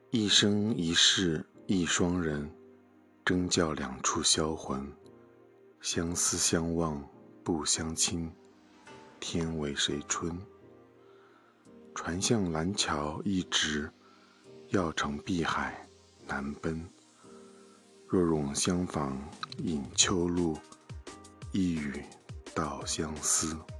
一生一世一双人，争教两处销魂。相思相望不相亲，天为谁春？船向蓝桥一直，要乘碧海难奔。若冗相逢饮秋露，一语道相思。